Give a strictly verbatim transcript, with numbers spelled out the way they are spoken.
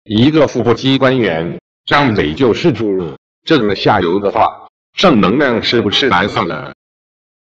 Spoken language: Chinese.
一个副部级官员张伟就是注入这种下游的话，正能量是不是难算了？